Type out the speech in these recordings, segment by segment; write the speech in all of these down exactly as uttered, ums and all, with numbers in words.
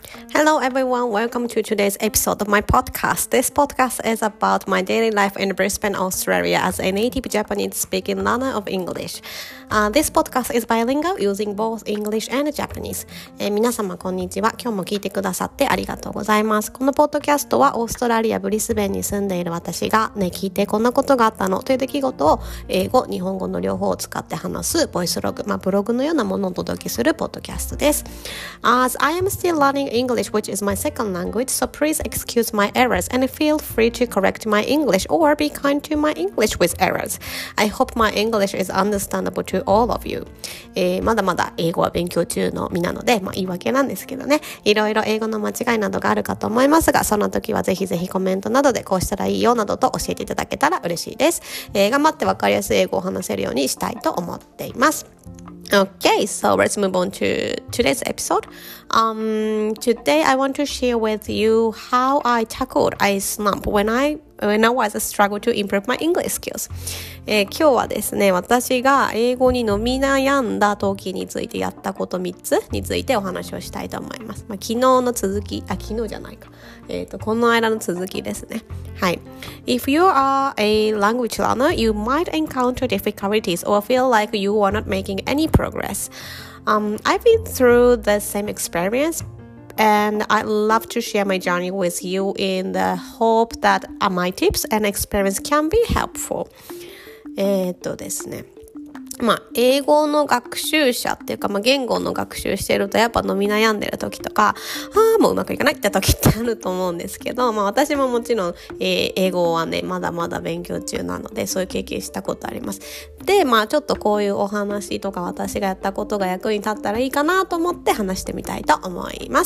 Hello everyone, welcome to today's episode of my podcast. This podcast is about my daily life in Brisbane, Australia as a native Japanese speaking learner of English. Uh, this podcast is bilingual using both English and Japanese. えー、皆様こんにちは。今日も聞いてくださってありがとうございます。このポッドキャストはオーストラリアブリスベンに住んでいる私がね、聞いてこんなことがあったのという出来事を英語、日本語の両方を使って話すボイスログ、まあ、ブログのようなものをお届けするポッドキャストです。As I am still learning English, which is my second language, so please excuse my errors and feel free to correct my English or be kind to my English with errors. I hope my English is understandable to all of you. えー、まだまだ英語は勉強中の身なので、まあ言い訳なんですけどね、いろいろ英語の間違いなどがあるかと思いますが、その時はぜひぜひコメントなどでこうしたらいいよなどと教えていただけたら嬉しいです。えー、頑張ってわかりやすい英語を話せるようにしたいと思っています。Okay, so let's move on to today's episode. Um, today I want to share with you how I tackled a slump when I when I was struggle to improve my English skills. えー、今日はですね、私が英語に伸び悩んだ時についてやったことみっつについてお話をしたいと思います。まあ、昨日の続き、あ、昨日じゃないか。えっと、この間の続きですね。はい。If you are a language learner, you might encounter difficulties or feel like you are not making any progress. Um, I've been through the same experience.And I'd love to share my journey with you in the hope that my tips and experience can be helpful. えっとですね。まあ、英語の学習者っていうか、まあ、言語の学習してるとやっぱ伸び悩んでる時とか、ああ、もううまくいかないって時ってあると思うんですけど、まあ私ももちろん、えー、英語はね、まだまだ勉強中なので、そういう経験したことあります。で、まあちょっとこういうお話とか私がやったことが役に立ったらいいかなと思って話してみたいと思います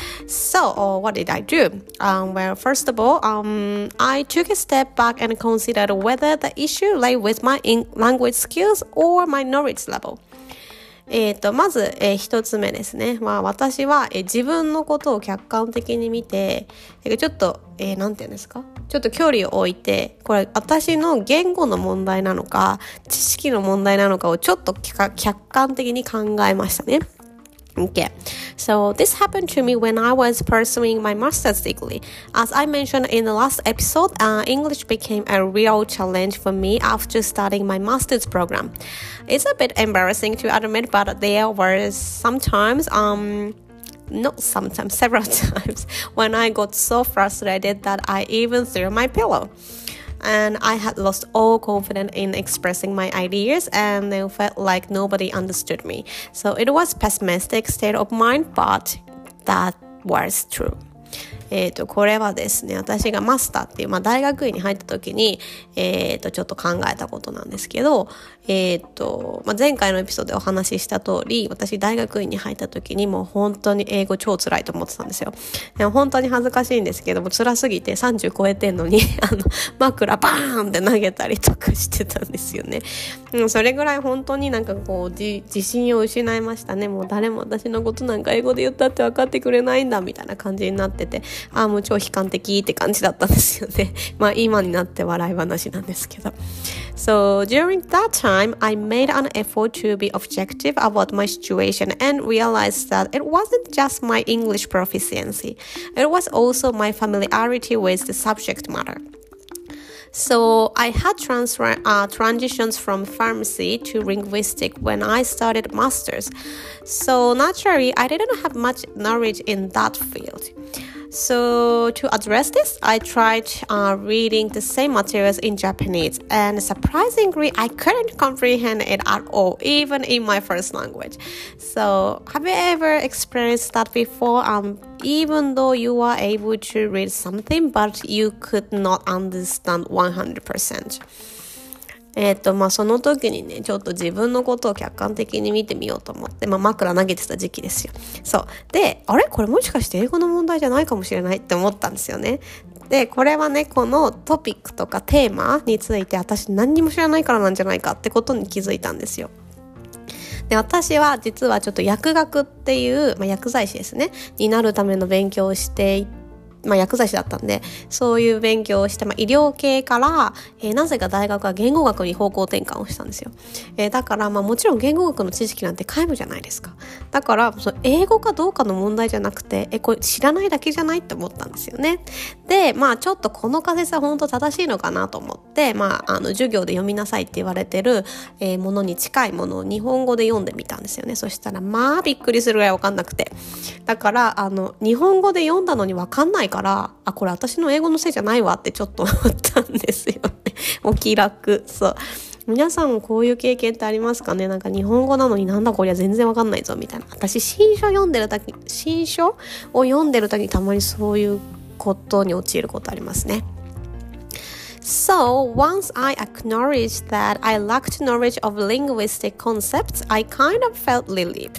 。So, what did I do? Um, well, first of all, um, I took a step back and considered whether the issue lay with my language skills or my knowledge level. えっと、まず、えー、一つ目ですね。まあ、私は、えー、自分のことを客観的に見て、ちょっと、えー、なんて言うんですか？ちょっと距離を置いて、これ、私の言語の問題なのか、知識の問題なのかをちょっと客観的に考えましたね。Okay, so this happened to me when I was pursuing my master's degree. As I mentioned in the last episode, uh, English became a real challenge for me after starting my master's program. It's a bit embarrassing to admit, but there were sometimes, um, not sometimes, several times, when I got so frustrated that I even threw my pillow.And I had lost all confidence in expressing my ideas and then felt like nobody understood me. So it was a pessimistic state of mind, but that was true. えっと、これはですね、私がマスターっていう、まあ、大学院に入った時に、えっと、ちょっと考えたことなんですけど、えっと、まあ、前回のエピソードでお話しした通り、私大学院に入った時にもう本当に英語超辛いと思ってたんですよ。でも本当に恥ずかしいんですけども、辛すぎてさんじゅう超えてんのに、あの、枕バーンって投げたりとかしてたんですよね。うん、それぐらい本当になんかこう、自信を失いましたね。もう誰も私のことなんか英語で言ったって分かってくれないんだ、みたいな感じになってて、ああ、もう超悲観的って感じだったんですよね。まあ今になって笑い話なんですけど。So during that time, I made an effort to be objective about my situation and realized that it wasn't just my English proficiency. It was also my familiarity with the subject matter.So I had trans- uh, transitions from pharmacy to linguistic when I started masters. So naturally, I didn't have much knowledge in that field. So to address this, I tried uh, reading the same materials in Japanese, and surprisingly, I couldn't comprehend it at all, even in my first language. So have you ever experienced that before? Um, even though you were able to read something, but you could not understand one hundred percent.えっと、まあ、その時にね、ちょっと自分のことを客観的に見てみようと思って、まあ、枕投げてた時期ですよ。そう。で、あれこれもしかして英語の問題じゃないかもしれないって思ったんですよね。で、これはね、このトピックとかテーマについて私何にも知らないからなんじゃないかってことに気づいたんですよ。で、私は実はちょっと薬学っていう、まあ、薬剤師ですね、になるための勉強をしていまあ、薬剤師だったんで、そういう勉強をして、まあ、医療系から、えー、なぜか大学は言語学に方向転換をしたんですよ。えー、だから、まあ、もちろん言語学の知識なんて皆無じゃないですか。だから、その英語かどうかの問題じゃなくて、え、これ知らないだけじゃないって思ったんですよね。で、まあ、ちょっとこの仮説は本当正しいのかなと思って、まあ、あの、授業で読みなさいって言われてる、えー、ものに近いものを日本語で読んでみたんですよね。そしたら、まあ、びっくりするぐらいわかんなくて。だから、あの、日本語で読んだのにわかんないから、あ、これ私の英語のせいじゃないわってちょっと思ったんですよね。お気楽。そう。皆さんもこういう経験ってありますかね。なんか日本語なのになんだこりゃ全然わかんないぞみたいな。私新書読んでるとき、新書を読んでるときにたまにそういうことに陥ることありますね。So, once I acknowledged that I lacked knowledge of linguistic concepts, I kind of felt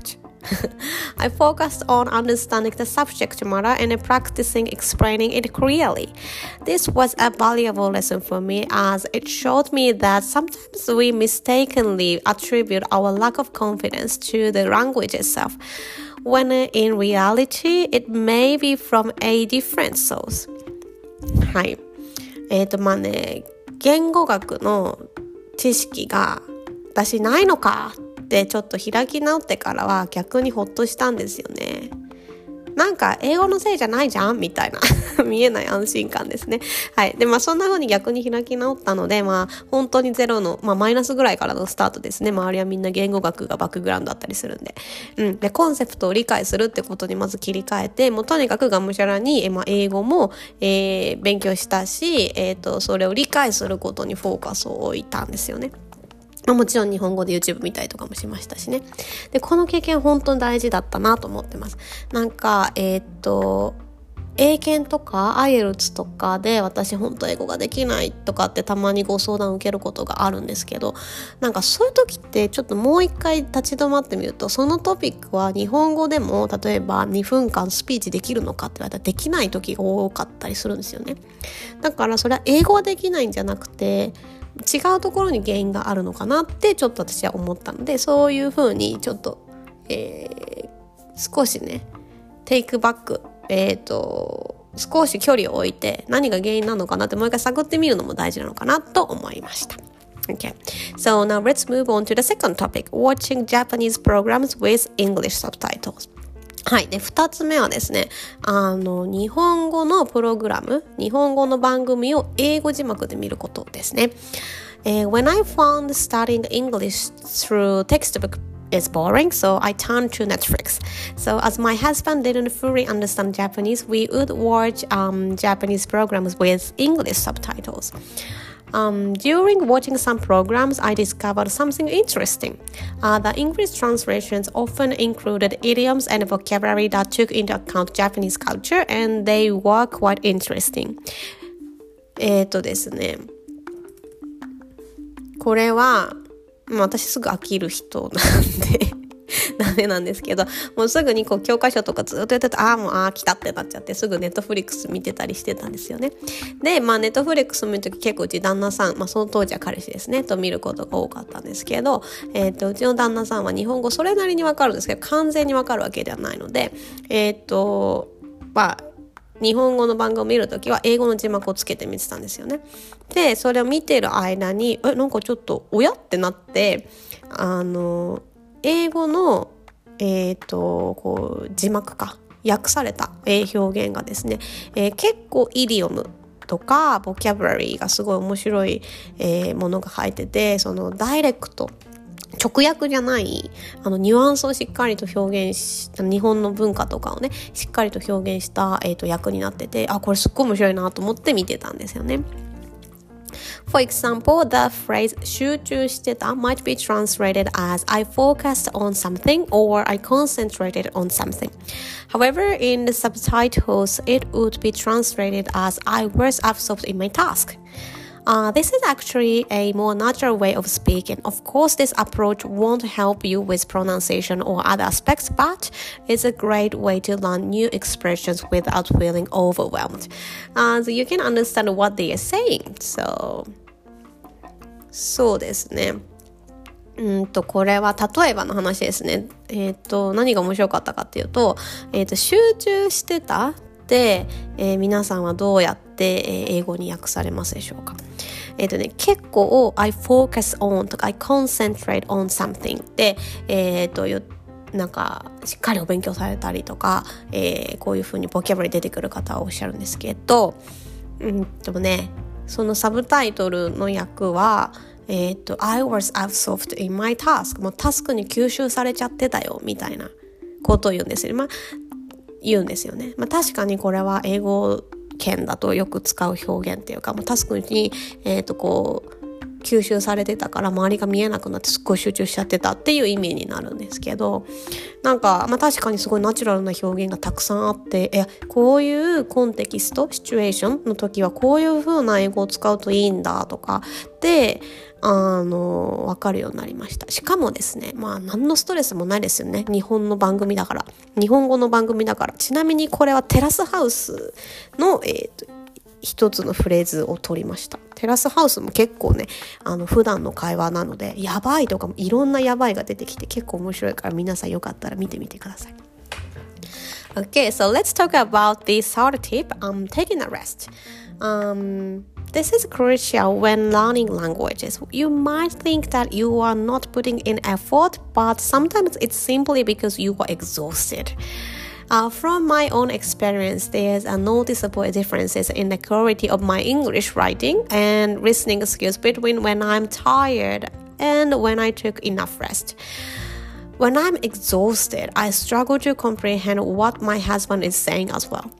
relieved.I focused on understanding the subject matter and practicing explaining it clearly. This was a valuable lesson for me as it showed me that sometimes we mistakenly attribute our lack of confidence to the language itself, when in reality it may be from a different source. はい。えっと、まあね、言語学の知識が私ないのかでちょっと開き直ってからは逆にほっとしたんですよね。なんか英語のせいじゃないじゃんみたいな見えない安心感ですね。はい。で、まあそんな風に逆に開き直ったので、まあ本当にゼロの、まあマイナスぐらいからのスタートですね。周りはみんな言語学がバックグラウンドだったりするんで。うん。で、コンセプトを理解するってことにまず切り替えて、もうとにかくがむしゃらに、えまあ英語も、えー、勉強したし、えっと、それを理解することにフォーカスを置いたんですよね。もちろん日本語で YouTube 見たりとかもしましたしね。で、この経験本当に大事だったなと思ってます。なんか、えー、っと、英検とか アイエルツ とかで私本当英語ができないとかってたまにご相談を受けることがあるんですけど、なんかそういう時ってちょっともう一回立ち止まってみると、そのトピックは日本語でも例えばにふんかんスピーチできるのかって言われたらできない時が多かったりするんですよね。だからそれは英語はできないんじゃなくて、違うところに原因があるのかなってちょっと私は思ったので、そういう風にちょっと、えー、少しねテイクバック、えーと少し距離を置いて何が原因なのかなってもう一回探ってみるのも大事なのかなと思いました。Okay, so now let's move on to the second topic, watching Japanese programs with English subtitles.はい。で、二つ目はですね、あの、日本語のプログラム、日本語の番組を英語字幕で見ることですね。Uh, when I found studying English through textbook is boring, so I turned to Netflix. So as my husband didn't fully understand Japanese, we would watch um, Japanese programs with English subtitles.Um, during watching some programs, I discovered something interesting. Uh, the English translations often included idioms and vocabulary that took into account Japanese culture, and they were quite interesting. えっとですね、これは、まあ、私すぐ飽きる人なんでダメなんですけど、もうすぐにこう教科書とかずっとやってたら、ああもうああ来たってなっちゃって、すぐネットフリックス見てたりしてたんですよね。で、まあネットフリックス見るとき結構うち旦那さん、まあその当時は彼氏ですねと見ることが多かったんですけど、えっとうちの旦那さんは日本語それなりにわかるんですけど、完全にわかるわけではないので、えっとまあ日本語の番組を見るときは英語の字幕をつけて見てたんですよね。で、それを見てる間に、え、なんかちょっとおやってなって、あの英語のえっとこう字幕か訳された表現がですね、えー、結構イディオムとかボキャブラリーがすごい面白い、えー、ものが入ってて、そのダイレクト直訳じゃないあのニュアンスをしっかりと表現し、日本の文化とかをねしっかりと表現した、えー、と訳になってて、あ、これすっごい面白いなと思って見てたんですよね。For example, the phrase 集中してた might be translated as I focused on something or I concentrated on something. However, in the subtitles, it would be translated as I was absorbed in my task.Uh, this is actually a more natural way of speaking. Of course, this approach won't help you with pronunciation or other aspects, but it's a great way to learn new expressions without feeling overwhelmed. Uh, so you can understand what they are saying. So, そうですね。うんとこれは例えばの話ですね。えっと何が面白かったかっていうと、えっと集中してたって、えー、皆さんはどうやって、えー、英語に訳されますでしょうか。えっとね、結構 I focus on とか I concentrate on something で、えっとなんかしっかりお勉強されたりとか、えー、こういう風にボキャブラリー出てくる方はおっしゃるんですけど、うんとね、そのサブタイトルの訳は、えっと I was absorbed in my task もうタスクに吸収されちゃってたよみたいなことを言うんですよね。まあ言うんですよね。まあ確かにこれは英語圏だとよく使う表現っていうか、もうタスクにえっとこう吸収されてたから周りが見えなくなってすっごい集中しちゃってたっていう意味になるんですけど、なんか、まあ、確かにすごいナチュラルな表現がたくさんあって、えこういうコンテキストシチュエーションの時はこういう風な英語を使うといいんだとかであの分かるようになりました。しかもですね、まあ何のストレスもないですよね。日本の番組だから、日本語の番組だから。ちなみにこれはテラスハウスの、えーと一つのフレーズを取りました。テラスハウスも結構ね、あの普段の会話なので、やばいとかもいろんなやばいが出てきて結構面白いから、皆さんよかったら見てみてください。Okay, so let's talk about this third tip. Um, taking a rest. Um, this is crucial when learning languages. You might think that you are not putting in effort, but sometimes it's simply because you are exhausted.Uh, from my own experience, there's a noticeable differences in the quality of my English writing and listening skills between when I'm tired and when I took enough rest. When I'm exhausted, I struggle to comprehend what my husband is saying as well.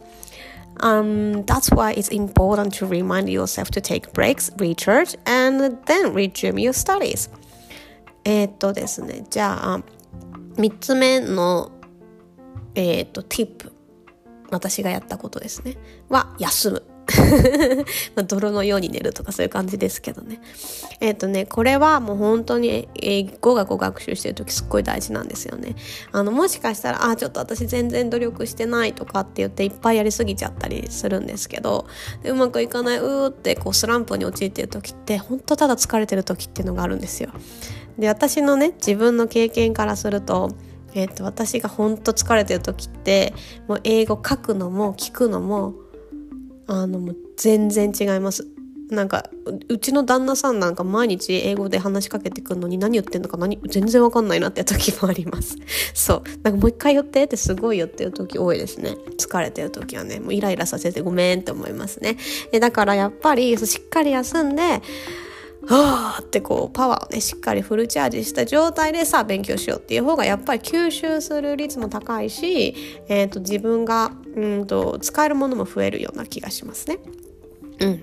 Um, that's why it's important to remind yourself to take breaks, recharge, and then resume your studies. えっとですね、じゃあみっつめのえっと、ティップ。私がやったことですね。は、休む。まあ、泥のように寝るとかそういう感じですけどね。えっとね、これはもう本当に英語学を学習してるときすっごい大事なんですよね。あの、もしかしたら、あ、ちょっと私全然努力してないとかって言っていっぱいやりすぎちゃったりするんですけど、でうまくいかない、うーってこうスランプに陥ってるときって、本当ただ疲れてるときっていうのがあるんですよ。で、私のね、自分の経験からすると、えー、と私が本当疲れてる時ってもう英語書くのも聞くのもあのもう全然違います。なんか う, うちの旦那さんなんか毎日英語で話しかけてくるのに何言ってんのか何全然わかんないなって時もあります。そうなんかもう一回言ってってすごい言ってる時多いですね。疲れてる時はねもうイライラさせてごめんって思いますね。でだからやっぱりしっかり休んではーってこうパワーをねしっかりフルチャージした状態でさあ勉強しようっていう方がやっぱり吸収する率も高いし、えー、と自分がうんと使えるものも増えるような気がしますね。Mm.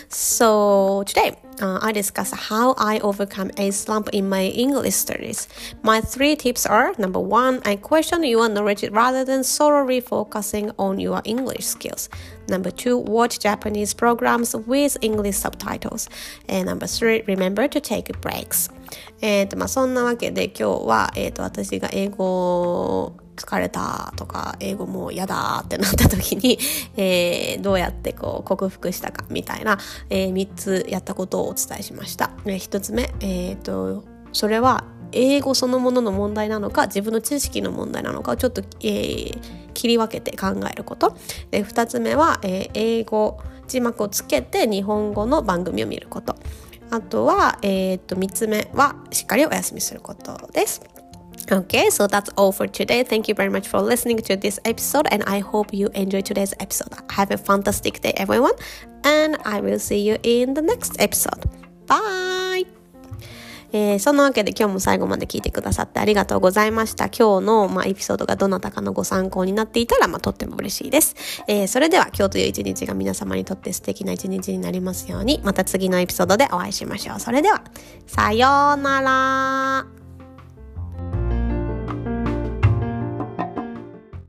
So today, uh, I discuss how I overcome a slump in my English studies. My three tips are: number one, I question your knowledge rather than solely focusing on your English skills. Number two, watch Japanese programs with English subtitles. And number three, remember to take breaks. えーとまあ、そんなわけで今日は、えーと、私が英語疲れたとか英語もう嫌だってなった時に、えー、どうやってこう克服したかみたいな、えー、みっつやったことをお伝えしました。えー、ひとつめ、えーと、それは英語そのものの問題なのか自分の知識の問題なのかをちょっと、えー、切り分けて考えること。でふたつめは、えー、英語字幕をつけて日本語の番組を見ること。あとは、えー、とみっつめはしっかりお休みすることです。Okay, so that's all for today. Thank you very much for listening to this episode, and I hope you enjoyed today's episode. Have a fantastic day, everyone, and I will see you in the next episode. Bye! えー、そんなわけで今日も最後まで聞いてくださってありがとうございました。今日の、まあ、エピソードがどなたかのご参考になっていたら、まあ、とっても嬉しいです。えー、それでは今日という一日が皆様にとって素敵な一日になりますように、また次のエピソードでお会いしましょう。それでは、さようなら。